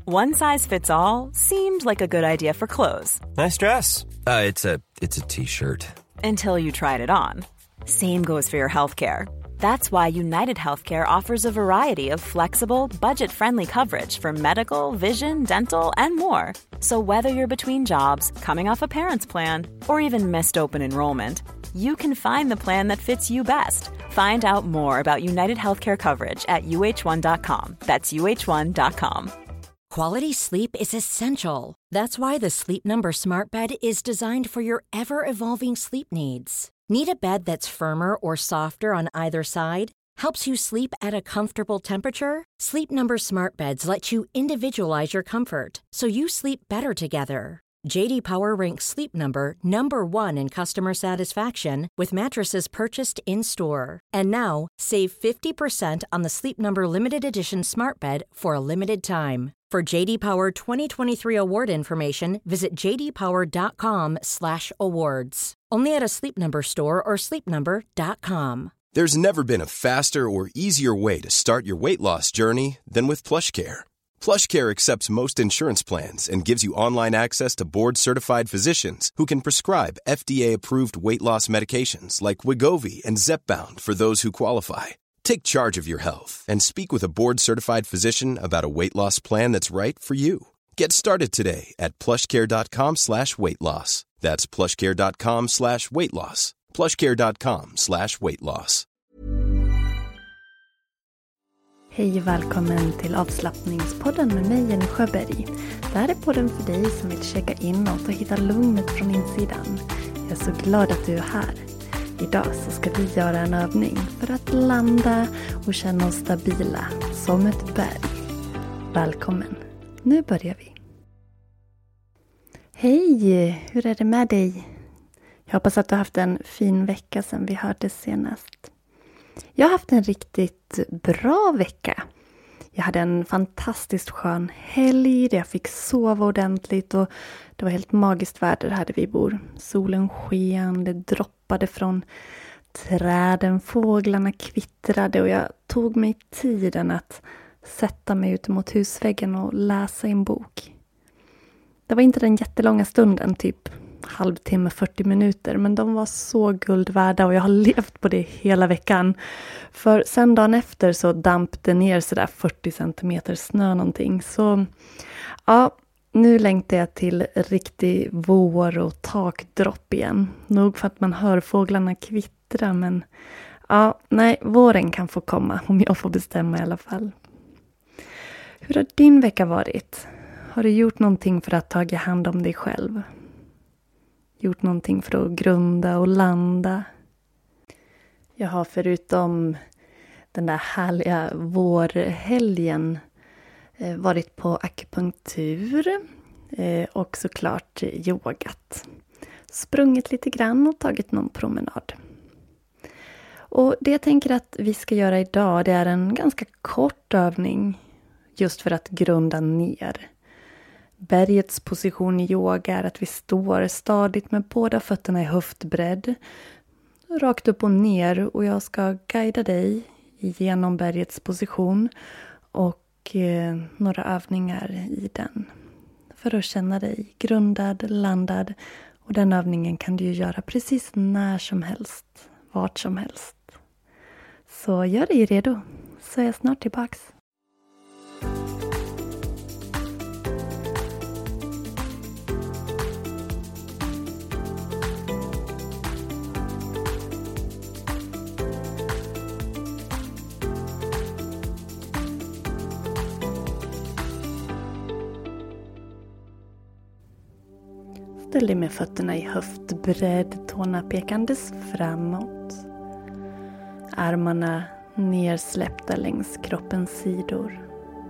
One size fits all seemed like a good idea for clothes. Nice dress. It's a t-shirt. Until you tried it on. Same goes for your healthcare. That's why United Healthcare offers a variety of flexible, budget-friendly coverage for medical, vision, dental, and more. So whether you're between jobs, coming off a parent's plan, or even missed open enrollment, you can find the plan that fits you best. Find out more about United Healthcare coverage at uh1.com. That's uh1.com. Quality sleep is essential. That's why the Sleep Number Smart Bed is designed for your ever-evolving sleep needs. Need a bed that's firmer or softer on either side? Helps you sleep at a comfortable temperature? Sleep Number Smart Beds let you individualize your comfort, so you sleep better together. J.D. Power ranks Sleep Number #1 in customer satisfaction with mattresses purchased in-store. And now, save 50% on the Sleep Number Limited Edition Smart Bed for a limited time. For J.D. Power 2023 award information, visit jdpower.com/awards. Only at a Sleep Number store or sleepnumber.com. There's never been a faster or easier way to start your weight loss journey than with PlushCare. PlushCare accepts most insurance plans and gives you online access to board-certified physicians who can prescribe FDA-approved weight loss medications like Wegovy and Zepbound for those who qualify. Take charge of your health and speak with a board-certified physician about a weight loss plan that's right for you. Get started today at plushcare.com/weightloss. That's plushcare.com/weightloss. plushcare.com/weightloss. Hej och välkommen till avslappningspodden med mig, Jenny Sjöberg. Det här är podden för dig som vill checka inåt och hitta lugnet från insidan. Jag är så glad att du är här. Idag så ska vi göra en övning för att landa och känna oss stabila som ett berg. Välkommen, nu börjar vi. Hej, hur är det med dig? Jag hoppas att du har haft en fin vecka sedan vi hördes senast. Jag har haft en riktigt bra vecka. Jag hade en fantastiskt skön helg där jag fick sova ordentligt och det var helt magiskt väder här där vi bor. Solen sken, det droppade från träden, fåglarna kvittrade och jag tog mig tiden att sätta mig ut mot husväggen och läsa en bok. Det var inte den jättelånga stunden, typ halvtimme, 40 minuter, men de var så guld värda och jag har levt på det hela veckan. För sen dagen efter så damp det ner sådär 40 centimeter snö någonting. Så ja, nu längtar jag till riktig vår och takdropp igen. Nog för att man hör fåglarna kvittra, men ja, nej, våren kan få komma om jag får bestämma i alla fall. Hur har din vecka varit? Har du gjort någonting för att ta hand om dig själv? Gjort någonting för att grunda och landa? Jag har förutom den där härliga vårhelgen varit på akupunktur och såklart yogat. Sprungit lite grann och tagit någon promenad. Och det jag tänker att vi ska göra idag, det är en ganska kort övning just för att grunda ner. Bergets position i yoga är att vi står stadigt med båda fötterna i höftbredd, rakt upp och ner, och jag ska guida dig genom bergets position och några övningar i den för att känna dig grundad, landad, och den övningen kan du ju göra precis när som helst, vart som helst. Så gör dig redo, så är jag snart tillbaks. Ställ dig med fötterna i höftbredd, tårna pekandes framåt. Armarna nersläppta längs kroppens sidor.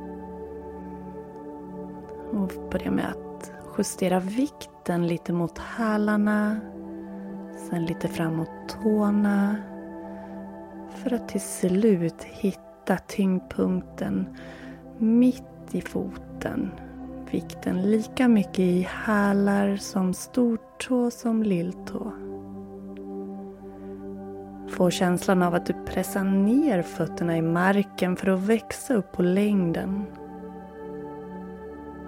Och börja med att justera vikten lite mot hälarna. Sen lite framåt tårna. För att till slut hitta tyngdpunkten mitt i foten. Vikten lika mycket i hälar som stortå som lilltå. Få känslan av att du pressar ner fötterna i marken för att växa upp på längden.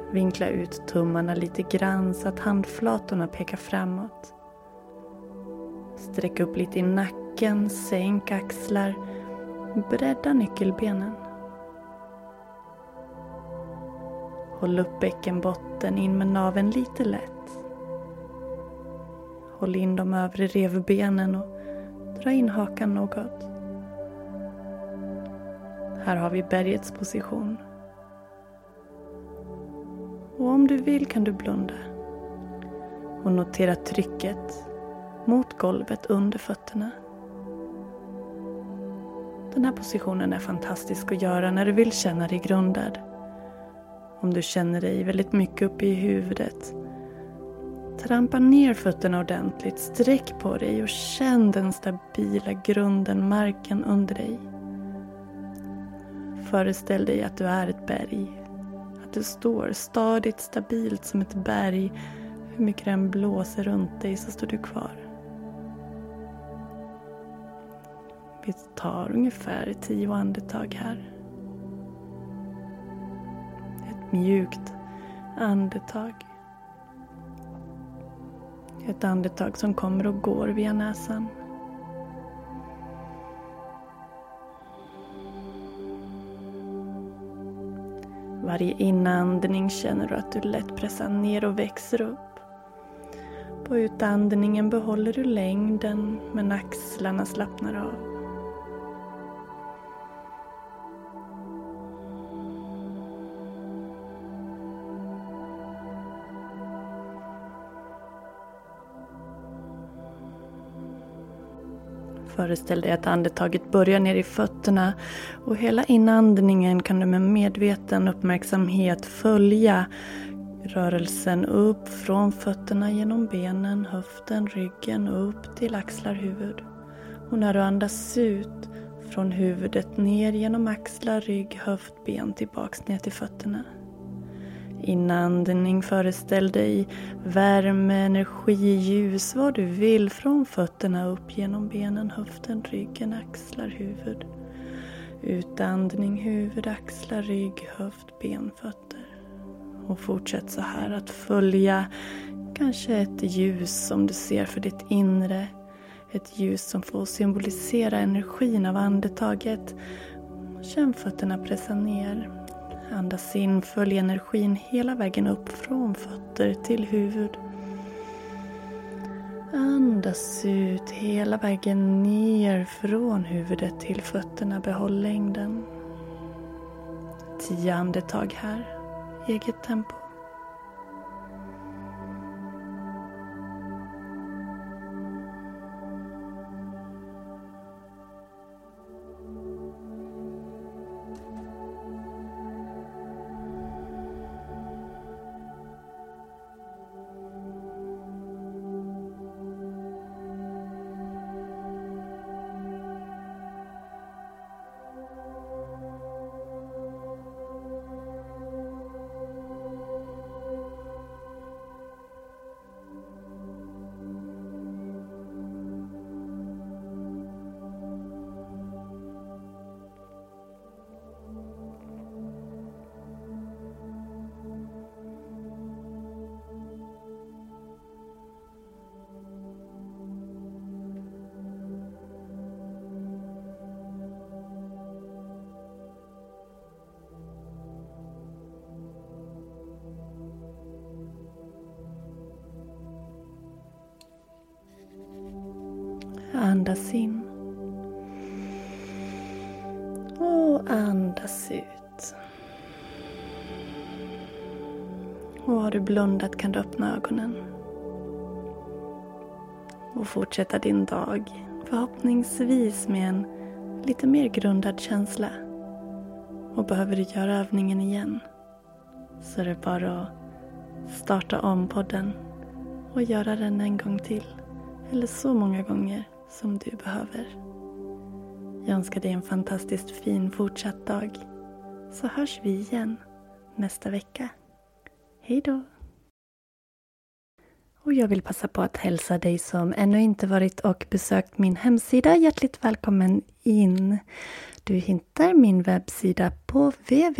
Vinkla ut tummarna lite grann så att handflatorna pekar framåt. Sträck upp lite i nacken, sänk axlar, bredda nyckelbenen. Håll upp bäckenbotten in med naveln lite lätt. Håll in de övre revbenen och dra in hakan något. Här har vi bergets position. Och om du vill kan du blunda och notera trycket mot golvet under fötterna. Den här positionen är fantastisk att göra när du vill känna dig grundad. Om du känner dig väldigt mycket uppe i huvudet, trampa ner fötterna ordentligt, sträck på dig och känn den stabila grunden, marken under dig. Föreställ dig att du är ett berg. Att du står stadigt, stabilt som ett berg. Hur mycket den blåser runt dig så står du kvar. Vi tar ungefär 10 andetag här. Ett mjukt andetag. Ett andetag som kommer och går via näsan. Varje inandning känner du att du lätt pressar ner och växer upp. På utandningen behåller du längden men axlarna slappnar av. Föreställ dig att andetaget börjar ner i fötterna och hela inandningen kan du med medveten uppmärksamhet följa rörelsen upp från fötterna genom benen, höften, ryggen upp till axlar, huvud. Och när du andas ut från huvudet ner genom axlar, rygg, höft, ben tillbaks ner till fötterna. Inandning, föreställ dig värme, energi, ljus, vad du vill från fötterna upp genom benen, höften, ryggen, axlar, huvud. Utandning, huvud, axlar, rygg, höft, ben, fötter. Och fortsätt så här att följa kanske ett ljus som du ser för ditt inre. Ett ljus som får symbolisera energin av andetaget. Känn fötterna pressa ner. Andas in, följ energin hela vägen upp från fötter till huvud. Andas ut hela vägen ner från huvudet till fötterna. Behåll längden. 10 andetag här, eget tempo. Andas in. Och andas ut. Och har du blundat kan du öppna ögonen. Och fortsätta din dag. Förhoppningsvis med en lite mer grundad känsla. Och behöver du göra övningen igen, så är det bara att starta om podden och göra den en gång till. Eller så många gånger som du behöver. Jag önskar dig en fantastiskt fin fortsatt dag. Så hörs vi igen nästa vecka. Hej då! Och jag vill passa på att hälsa dig som ännu inte varit och besökt min hemsida hjärtligt välkommen in. Du hittar min webbsida på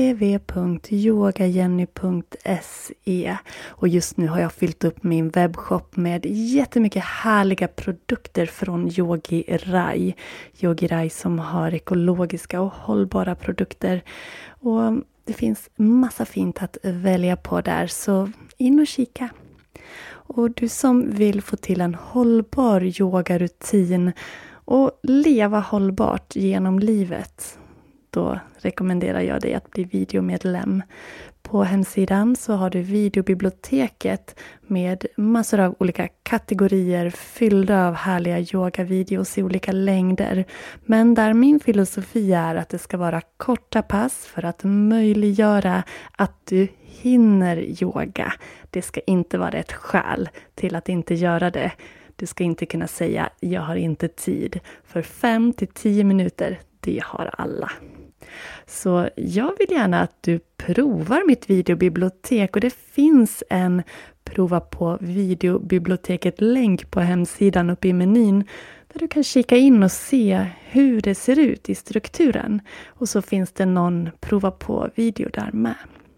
www.yogajenny.se och just nu har jag fyllt upp min webbshop med jättemycket härliga produkter från Yogi Rai. Yogi Rai som har ekologiska och hållbara produkter och det finns massa fint att välja på där, så in och kika. Och du som vill få till en hållbar yogarutin och leva hållbart genom livet, då rekommenderar jag dig att bli videomedlem. På hemsidan så har du videobiblioteket med massor av olika kategorier fyllda av härliga yogavideos i olika längder. Men där min filosofi är att det ska vara korta pass för att möjliggöra att du hinner yoga. Det ska inte vara ett skäl till att inte göra det. Du ska inte kunna säga jag har inte tid. För 5-10 minuter, det har alla. Så jag vill gärna att du provar mitt videobibliotek och det finns en prova på videobiblioteket-länk på hemsidan uppe i menyn där du kan kika in och se hur det ser ut i strukturen. Och så finns det någon prova på video där med.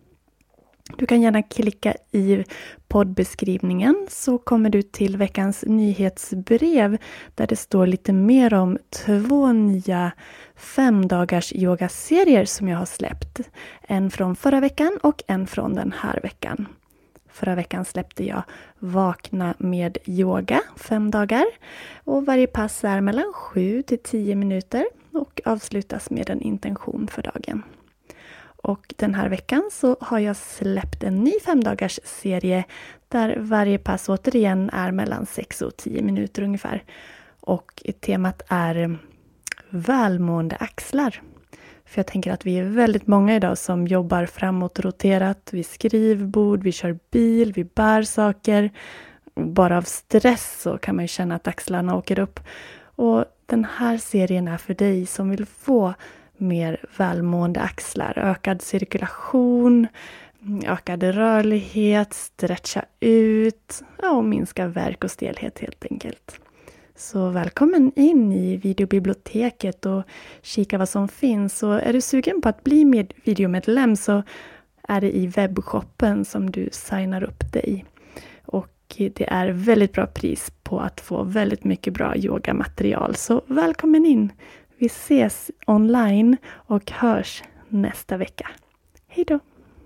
Du kan gärna klicka i poddbeskrivningen så kommer du till veckans nyhetsbrev där det står lite mer om 2 nya 5-dagars yogaserier som jag har släppt. En från förra veckan och en från den här veckan. Förra veckan släppte jag Vakna med yoga 5 dagar och varje pass är mellan 7-10 minuter och avslutas med en intention för dagen. Och den här veckan så har jag släppt en ny 5-dagars serie där varje pass återigen är mellan 6 och 10 minuter ungefär. Och temat är välmående axlar. För jag tänker att vi är väldigt många idag som jobbar framåtroterat. Vi skrivbord, vi kör bil, vi bär saker. Bara av stress så kan man ju känna att axlarna åker upp. Och den här serien är för dig som vill få mer välmående axlar, ökad cirkulation, ökad rörlighet, stretcha ut och minska värk och stelhet helt enkelt. Så välkommen in i videobiblioteket och kika vad som finns. Och är du sugen på att bli videomedlem så är det i webbshoppen som du signar upp dig. Och det är väldigt bra pris på att få väldigt mycket bra yogamaterial. Så välkommen in! Vi ses online och hörs nästa vecka. Hej då!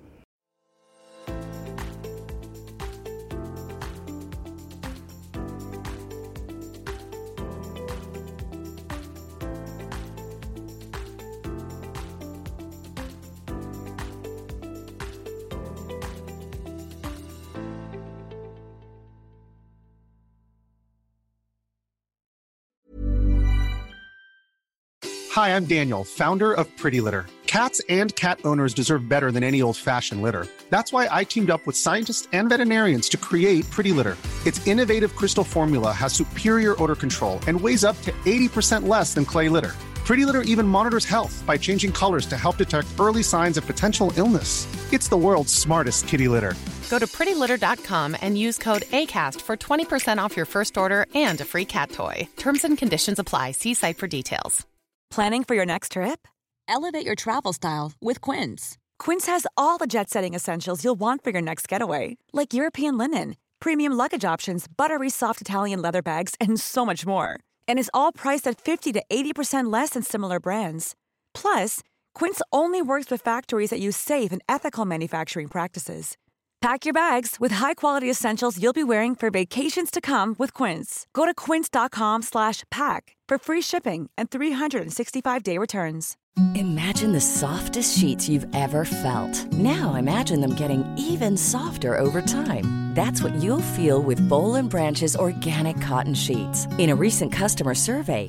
Hi, I'm Daniel, founder of Pretty Litter. Cats and cat owners deserve better than any old-fashioned litter. That's why I teamed up with scientists and veterinarians to create Pretty Litter. Its innovative crystal formula has superior odor control and weighs up to 80% less than clay litter. Pretty Litter even monitors health by changing colors to help detect early signs of potential illness. It's the world's smartest kitty litter. Go to prettylitter.com and use code ACAST for 20% off your first order and a free cat toy. Terms and conditions apply. See site for details. Planning for your next trip? Elevate your travel style with Quince. Quince has all the jet-setting essentials you'll want for your next getaway, like European linen, premium luggage options, buttery soft Italian leather bags, and so much more. And is all priced at 50 to 80% less than similar brands. Plus, Quince only works with factories that use safe and ethical manufacturing practices. Pack your bags with high-quality essentials you'll be wearing for vacations to come with Quince. Go to quince.com/pack for free shipping and 365-day returns. Imagine the softest sheets you've ever felt. Now imagine them getting even softer over time. That's what you'll feel with Boll & Branch's organic cotton sheets. In a recent customer survey,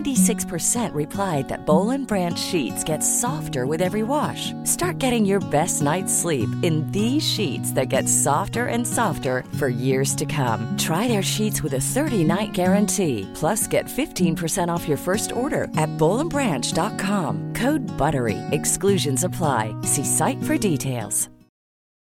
96% replied that Boll & Branch sheets get softer with every wash. Start getting your best night's sleep in these sheets that get softer and softer for years to come. Try their sheets with a 30-night guarantee. Plus, get 15% off your first order at bollandbranch.com. Code BUTTERY. Exclusions apply. See site for details.